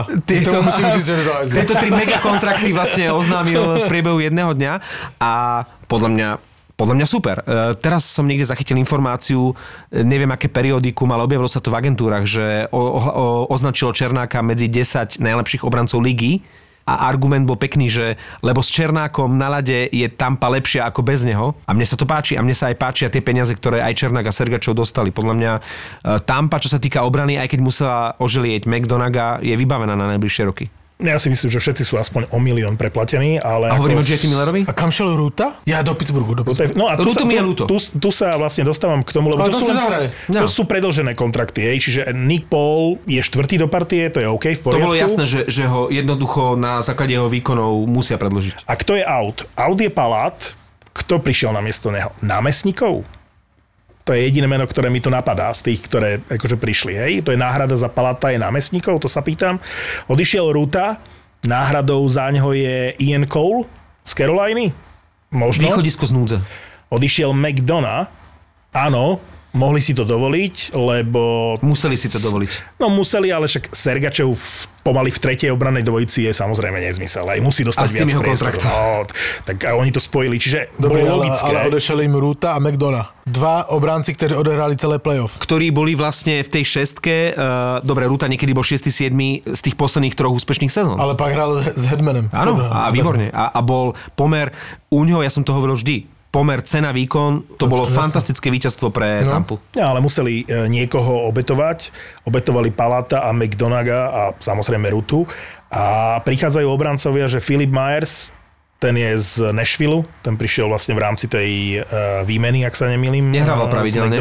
Tieto 3 megakontrakty vlastne oznámil v priebehu jedného dňa a podľa mňa super. Teraz som niekde zachytil informáciu, neviem aké periodikum, ale objavilo sa to v agentúrach, že označilo Černáka medzi 10 najlepších obrancov ligy a argument bol pekný, že lebo s Černákom na ľade je Tampa lepšia ako bez neho a mne sa to páči a mne sa aj páčia tie peniaze, ktoré aj Černák a Sergačov dostali. Podľa mňa Tampa, čo sa týka obrany, aj keď musela oželieť McDonaga, je vybavená na najbližšie roky. Ja si myslím, že všetci sú aspoň o milión preplatení, ale... A hovoríme o JT Millerovi? A kam šiel Ruta? Ja do Pittsburghu. No a tu sa vlastne dostávam k tomu, lebo to sú predĺžené kontrakty, čiže Nick Paul je 4. do partie, to je OK, v poriadku. To bolo jasné, že ho jednoducho na základe jeho výkonov musia predĺžiť. A kto je out? Out je Palat. Kto prišiel namiesto neho? Námestníkov? To je jediné meno, ktoré mi to napadá z tých, ktoré akože prišli. Hej? To je náhrada za Palata, je námestníkov, to sa pýtam. Odišiel Ruta, náhradou za ňoho je Ian Cole z Caroliny. Možno. Východisko z núdze. Odišiel McDonough, áno, mohli si to dovoliť, lebo... Museli si to dovoliť. No museli, ale však Sergačev pomaly v tretej obrannej dvojici je samozrejme nezmysel. Aj musí dostať viac priestoru. No, tak oni to spojili, čiže bolo logické. Ale odešli im Ruta a McDonough. 2 obránci, ktorí odehrali celé playoff. Ktorí boli vlastne v tej šestke, dobre, Ruta niekedy bol 6. 7. z tých posledných 3 úspešných sezón. Ale pak hral s Hedmanem. Áno, a výborne. A bol pomer, u ňoho, ja som to hovoril vždy, pomer cena výkon, to bolo fantastické víťazstvo pre Tampu. Ja, ale museli niekoho obetovať. Obetovali Palata a McDonagha a samozrejme Rutu. A prichádzajú obrancovia, že Philip Myers, ten je z Nashville, ten prišiel vlastne v rámci tej výmeny, ak sa nemýlim. Nehrával pravidelne.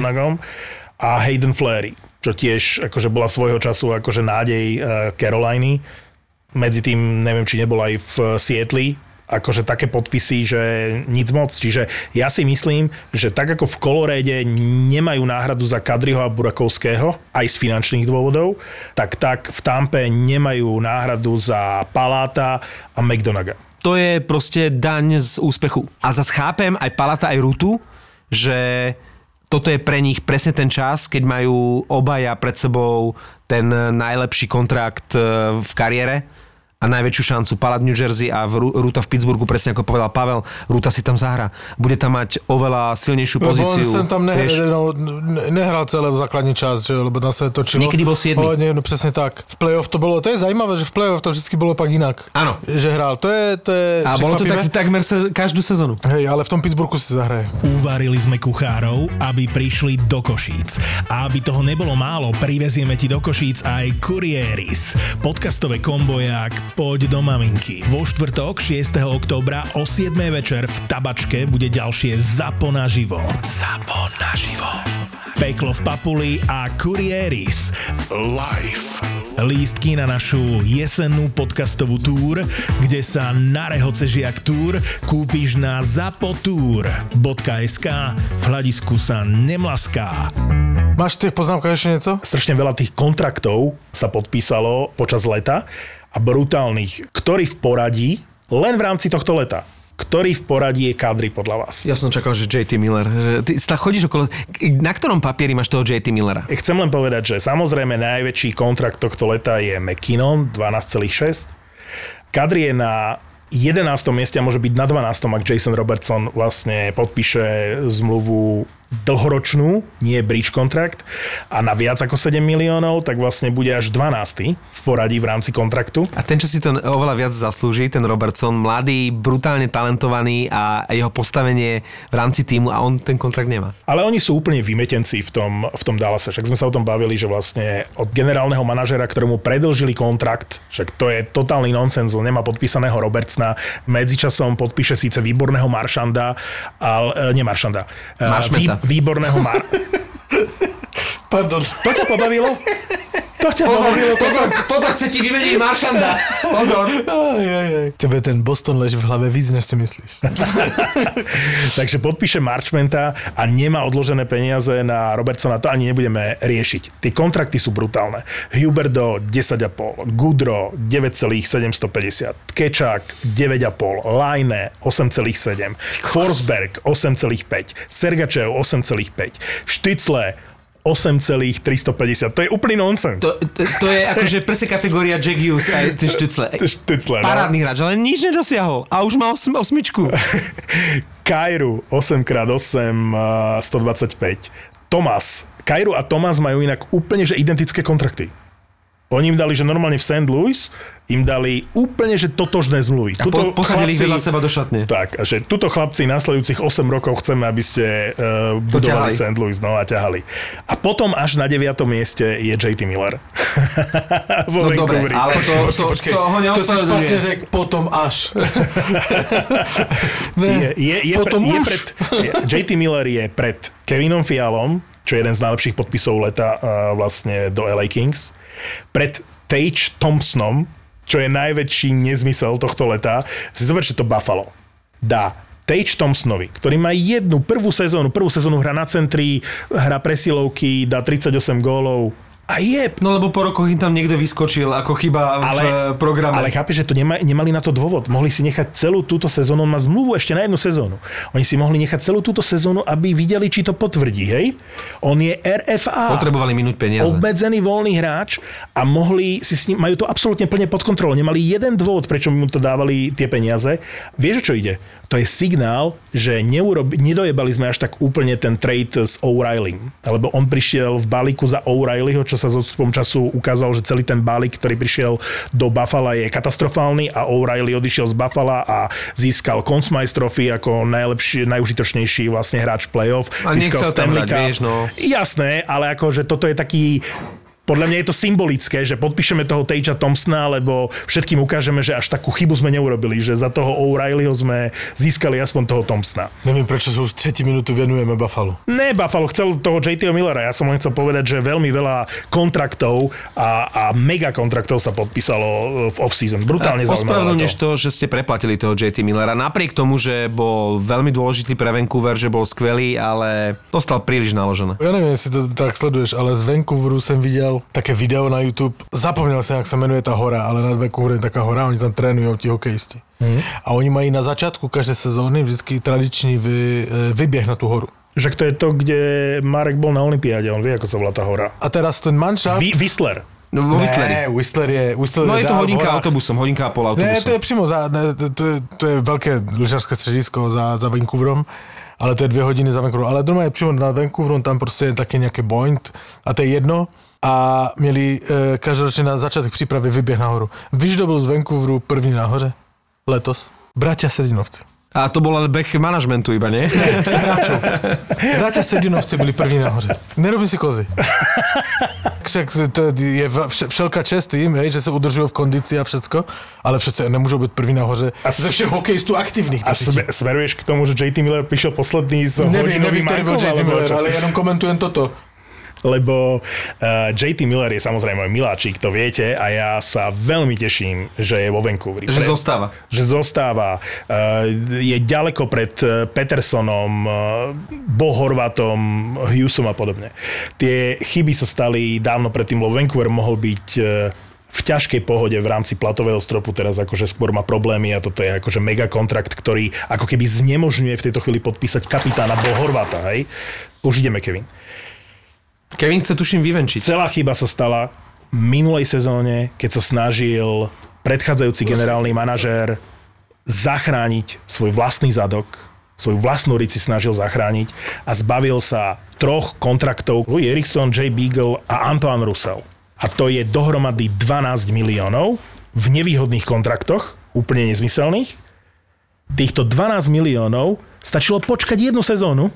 A Hayden Fleury, čo tiež akože bola svojho času akože nádej Caroliny. Medzi tým, neviem, či nebol aj v Seattle, akože také podpisy, že nic moc. Čiže ja si myslím, že tak ako v Coloréde nemajú náhradu za Kadriho a Burakovského, aj z finančných dôvodov, tak v Tampe nemajú náhradu za Palata a McDonagha. To je proste daň z úspechu. A zas chápem aj Palata, aj Rutu, že toto je pre nich presne ten čas, keď majú obaja pred sebou ten najlepší kontrakt v kariére a najväčšiu šancu. Palat New Jersey a Ruta v Pittsburghu, presne ako povedal Pavel, Ruta si tam zahra. Bude tam mať oveľa silnejšiu pozíciu. Lebo on tam nehral celé základný čas, že? Lebo tam sa točilo. Niekedy bol 7. No presne tak. V play-off to bolo, to je zaujímavé, že v play-off to vždy bolo pak inak. Áno. Že hral. To je a bolo to takmer každú sezónu. Hej, ale v tom Pittsburghu si zahraje. Uvarili sme kuchárov, aby prišli do Košíc. A aby toho nebolo málo, privezieme ti do Košíc aj Kurieris. Podcastové komboják Poď do maminky. Vo štvrtok 6. októbra o 7. večer v Tabačke bude ďalšie Zapo naživo. Zapo naživo. Peklo v Papuli a Kurieris live. Lístky na našu jesennú podcastovú túr, kde sa na rehoce žiak túr kúpiš na zapotour.sk. V hľadisku sa nemlaská. Máš v tých poznámkach ešte niečo? Strašne veľa tých kontraktov sa podpísalo počas leta a brutálnych. Ktorý v poradí, len v rámci tohto leta, ktorý v poradí je Kadri podľa vás? Ja som čakal, že JT Miller. Ty chodíš okolo... Na ktorom papieri máš toho JT Millera? Chcem len povedať, že samozrejme najväčší kontrakt tohto leta je McKinnon, 12,6. Kadri je na 11. mieste a môže byť na 12. ak Jason Robertson vlastne podpíše zmluvu dlhoročnú, nie bridge kontrakt a na viac ako 7 miliónov, tak vlastne bude až 12. v poradí v rámci kontraktu. A ten, čo si to oveľa viac zaslúži, ten Robertson, mladý, brutálne talentovaný a jeho postavenie v rámci týmu a on ten kontrakt nemá. Ale oni sú úplne vymetenci v tom Dallase. Však sme sa o tom bavili, že vlastne od generálneho manažera, ktorému predĺžili kontrakt, však to je totálny nonsens, nemá podpísaného Robertsona, medzičasom podpíše síce výborného Maršanda, ale nie Maršanda. Výborného Pardon. To ťa pobavilo? Pozor, chce ti vymeniť Maršanda. Pozor. Tebe ten Boston leží v hlave víc, než si myslíš. Takže podpíše Marchmenta a nemá odložené peniaze na Robertsona, to ani nebudeme riešiť. Tie kontrakty sú brutálne. Huberdeau 10,5, Goodrow 9,750, Tkečák 9,5, Laine 8,7, Forsberg 8,5, Sergačev 8,5, Štycle 8,350. To je úplný nonsens. To je akože presne kategória Jack Hughes aj ten Štycle. Parádny hráč, ale nič nedosiahol. A už má osmičku. Kairu 8x8 125. Kairu a Thomas majú inak úplne že identické kontrakty. Oni im dali, že normálne v St. Louis im dali úplne, že totožné zmluvy. A posadili ich vedľa seba do šatne. Tak, a že tuto chlapci nasledujúcich 8 rokov chceme, aby ste budovali St. Louis, no a ťahali. A potom až na 9. mieste je JT Miller. No dobre, ale to ho neospravedlňuje. Potom až. JT Miller je pred Kevinom Fialom, čo je jeden z najlepších podpisov leta vlastne do LA Kings, pred Tage Thompsonom, čo je najväčší nezmysel tohto leta. Si zober, že to Buffalo dá Tage Thompsonovi, ktorý má prvú sezónu hrá na centri, hrá presilovky, dá 38 gólov. A je. No lebo po rokoch im tam niekto vyskočil ako chyba v programe. Ale chápeš, že to nemali na to dôvod. Mohli si nechať celú túto sezónu, on má zmluvu ešte na jednu sezónu. Oni si mohli nechať celú túto sezónu, aby videli, či to potvrdí, hej? On je RFA. Potrebovali minúť peniaze. Obmedzený voľný hráč a mohli si s ním, majú to absolútne plne pod kontrolou. Nemali jeden dôvod, prečo mu to dávali tie peniaze. Vieš, čo ide? To je signál, že nedojebali sme až tak úplne ten trade s O'Reilly. Lebo on prišiel v balíku za O'Reillyho, čo sa s odstupom času ukázalo, že celý ten balík, ktorý prišiel do Buffala, je katastrofálny a O'Reilly odišiel z Buffala a získal Conn Smythe Trophy ako najužitočnejší vlastne hráč playoff. A nechcel tam hrať, vieš, no. Jasné, ale akože toto je taký... Podľa mňa je to symbolické, že podpíšeme toho Tagea Thompsona, lebo všetkým ukážeme, že až takú chybu sme neurobili, že za toho O'Reillyho sme získali aspoň toho Thompsona. Neviem, prečo sa už 3 minútu venujeme Buffalo. Ne, Buffalo chcel toho JT Millera. Ja som len chcel povedať, že veľmi veľa kontraktov a mega kontraktov sa podpísalo v off-season. Brutálne zaujímavé. Ospravedlňuješ to, že ste preplatili toho JT Millera. Napriek tomu, že bol veľmi dôležitý pre Vancouver, že bol skvelý, ale dostal príliš naložené. Ja neviem, si to tak sleduješ, ale z Vancouveru som videl také video na YouTube. Zapomnel som, jak sa menuje tá hora, ale nad Vancouveru je taká hora, oni tam trénujú tí hokejisti. A oni majú na začiatku každej sezóny vždycky tradičný vybieh na tú horu. Že to je to, kde Marek bol na olympiáde, on vie, ako sa volá tá hora. A teraz ten manšaft... Whistler. No, Whistler je to hodinka autobusom, hodinka a pol autobusom. Ne, to je přímo to je veľké lyžařské středisko za Vancouverom, ale to je 2 hodiny za Vancouverom. Ale doma je přímo nad Vancouverom, tam prostě je také nejaké point a to je jedno. A měli každoročne na začiatok prípravy vybieh nahoru. Víš, kto bol z Vancouveru první nahoře? Letos? Bratia Sedinovci. A to bol ale beh manažmentu iba, nie? Hráčov. Bratia Sedinovci byli první nahoře. Nerobím si kozy. Však to je všelká čest tým, že sa udržujú v kondícii a všecko, ale přece nemôžu byť první nahoře ze všech hokejistů aktivných. A smeruješ k tomu, že JT Miller prišiel posledný z hodinovým Neviem, ktorý bol JT Miller, ale ja jenom komentujem toto. Lebo JT Miller je samozrejme môj miláčik, to viete, a ja sa veľmi teším, že je vo Vancouveri. Že zostáva. Že zostáva. Je ďaleko pred Petersonom, Horvatom, Hughesom a podobne. Tie chyby sa stali dávno predtým, lebo Vancouver mohol byť v ťažkej pohode v rámci platového stropu, teraz akože skôr má problémy a toto je akože mega kontrakt, ktorý ako keby znemožňuje v tejto chvíli podpísať kapitána Horvata, hej? Už ideme, Kevin. Kevin chce tuším vyvenčiť. Celá chyba sa stala v minulej sezóne, keď sa snažil predchádzajúci generálny manažér zachrániť svoj vlastný zadok svoju vlastnú riť si snažil zachrániť a zbavil sa 3 kontraktov Louis Eriksson, Jay Beagle a Antoine Roussel. A to je dohromady 12 miliónov v nevýhodných kontraktoch, úplne nezmyselných. Týchto 12 miliónov stačilo počkať 1 sezónu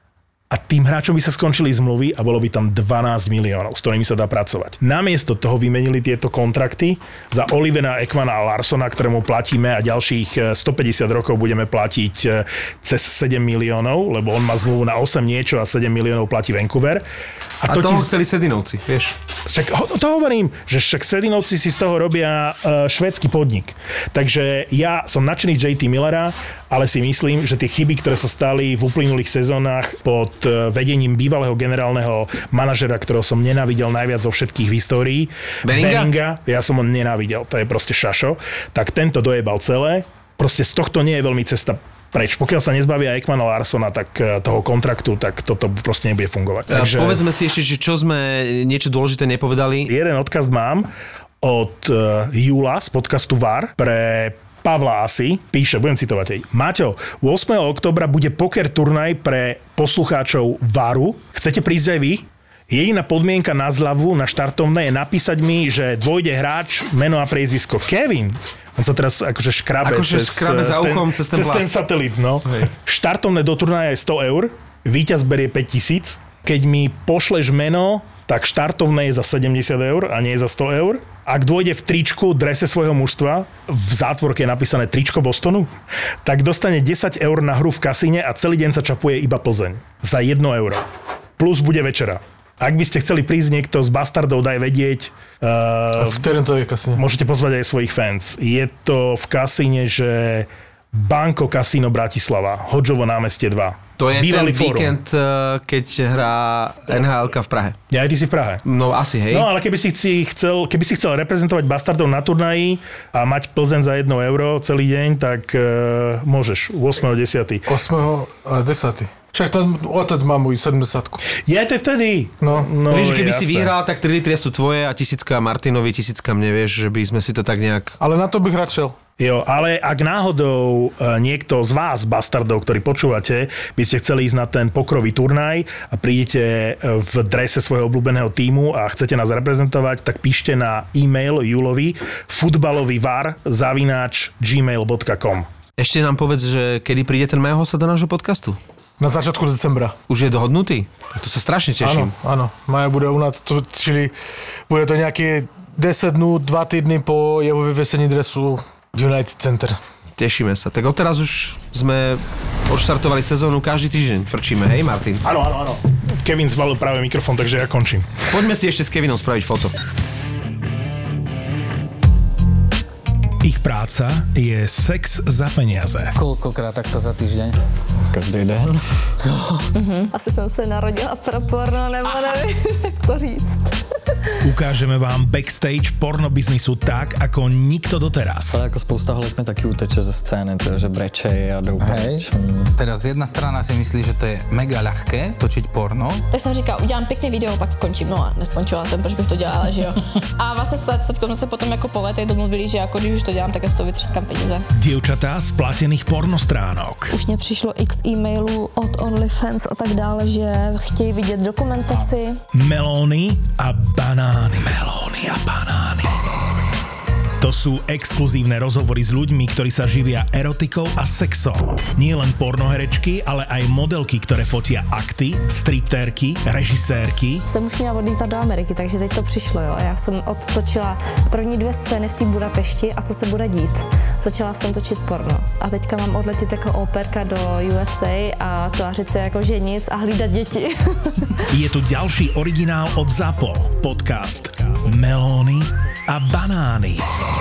a tým hráčom by sa skončili zmluvy a bolo by tam 12 miliónov, s ktorými sa dá pracovať. Namiesto toho vymenili tieto kontrakty za Olivera Ekmana a Larsona, ktorému platíme a ďalších 150 rokov budeme platiť cez 7 miliónov, lebo on má zmluvu na 8 niečo a 7 miliónov platí Vancouver. A toho chceli Sedinovci, vieš. Však to hovorím, že však Sedinovci si z toho robia švédsky podnik. Takže ja som nadšený JT Millera, ale si myslím, že tie chyby, ktoré sa stali v uplynulých sezónach pod vedením bývalého generálneho manažera, ktorého som nenávidel najviac zo všetkých v histórii, Benninga, ja som ho nenávidel, to je proste šašo, tak tento dojebal celé. Proste z tohto nie je veľmi cesta preč. Pokiaľ sa nezbavia Ekmana Larsona, tak toho kontraktu, tak toto proste nebude fungovať. Takže povedzme si ešte, že čo sme niečo dôležité nepovedali. Jeden odkaz mám od Júla z podcastu VAR pre Pavla Asi, píše, budem citovať jej. Maťo, 8. októbra bude poker turnaj pre poslucháčov VARu. Chcete prísť aj vy? Jediná podmienka na zľavu na štartovné je napísať mi, že dôjde hráč, meno a priezvisko Kevin. On sa teraz akože škrabe za uchom cez ten satelit. No. Štartovné do turnaja je 100 eur, víťaz berie 5 000. Keď mi pošleš meno, tak štartovné je za 70 eur a nie je za 100 eur. Ak dôjde v tričku, drese svojho mužstva, v zátvorke je napísané tričko Bostonu, tak dostane 10 eur na hru v kasíne a celý deň sa čapuje iba Plzeň. Za 1 euro. Plus bude večera. Ak by ste chceli prísť niekto z Bastardov, daj vedieť. V ktorom to je kasíne? Môžete pozvať aj svojich fans. Je to v kasíne, že Banko Casino Bratislava, Hodžovo námestie 2. To je bývalý ten víkend, keď hrá NHL-ka v Prahe. Ja, ty si v Prahe. No asi, hej. No ale keby si chcel reprezentovať Bastardov na turnaji a mať Plzeň za 1 euro celý deň, tak môžeš 8.10. 8.10. Však ten otec má môj 70-ku. Je to vtedy. No vieš, keby si vyhral, tak 3 litry sú tvoje a 1000 Martinovi, 1000 mne, vieš, že by sme si to tak nejak... Ale na to bych radšel. Jo, ale ak náhodou niekto z vás, Bastardov, ktorí počúvate, by ste chceli ísť na ten pokrový turnaj a prídete v drese svojho obľúbeného tímu a chcete nás reprezentovať, tak píšte na e-mail Julovi futbalovývar@gmail.com. Ešte nám povedz, že kedy príde ten Majo hosta do nášho podcastu? Na začiatku decembra. Už je dohodnutý? To sa strašne teším. Áno. Maja bude u nás, čili bude to nejaké 10 dnú, 2 týdny po jeho vyvesení dresu United Center. Tešíme sa. Tak odteraz už sme odštartovali sezónu, každý týždeň frčíme, hej Martin? Áno. Kevin zvalil práve mikrofón, takže ja končím. Poďme si ešte s Kevinom spraviť foto. Ich práca je sex za peniaze. Koľkokrát takto za týždeň? Každý den. Co? Asi jsem se narodila pro porno, nebo nevím, jak to říct. Ukážeme vám backstage pornobiznisu tak, ako nikto doteraz. Ale ako spousta holek mi taky uteče ze scény, že breče a jdou preč. Teraz jedna strana si myslí, že to je mega ľahké točiť porno. Tak jsem říkala, udělám pěkný video, pak skončím. No a neskončila jsem, proč bych to dělala, že jo. A vlastně s jsme se potom jako po letech domluvili, že jako když už to dělám, tak já z toho vytřeskám peníze. Dievčatá z platených pornostránok. Už mě přišlo x e-mailů od OnlyFans a tak dále, že chtějí vidět dokumentaci. Melóny a banány. Melóny a banány. To sú exkluzívne rozhovory s ľuďmi, ktorí sa živia erotikou a sexom. Nie len pornoherečky, ale aj modelky, ktoré fotia akty, striptérky, režisérky. Jsem už měla odlítat do Ameriky, takže teď to přišlo, jo. Já jsem odtočila první 2 scény v té Budapešti a co se bude dít. Začala jsem točit porno a teďka mám odletět jako operka do USA a tvářit se jako že nic a hlídat děti. Je tu ďalší originál od ZAPO. Podcast Melóny a banány.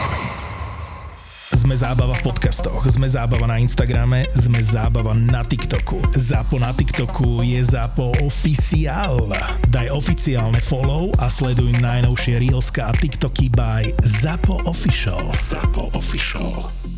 Sme zábava v podcastoch, sme zábava na Instagrame, sme zábava na TikToku. ZAPO na TikToku je ZAPO Oficiál. Daj oficiálne follow a sleduj najnovšie reelska a TikToky by ZAPO Official. ZAPO Official.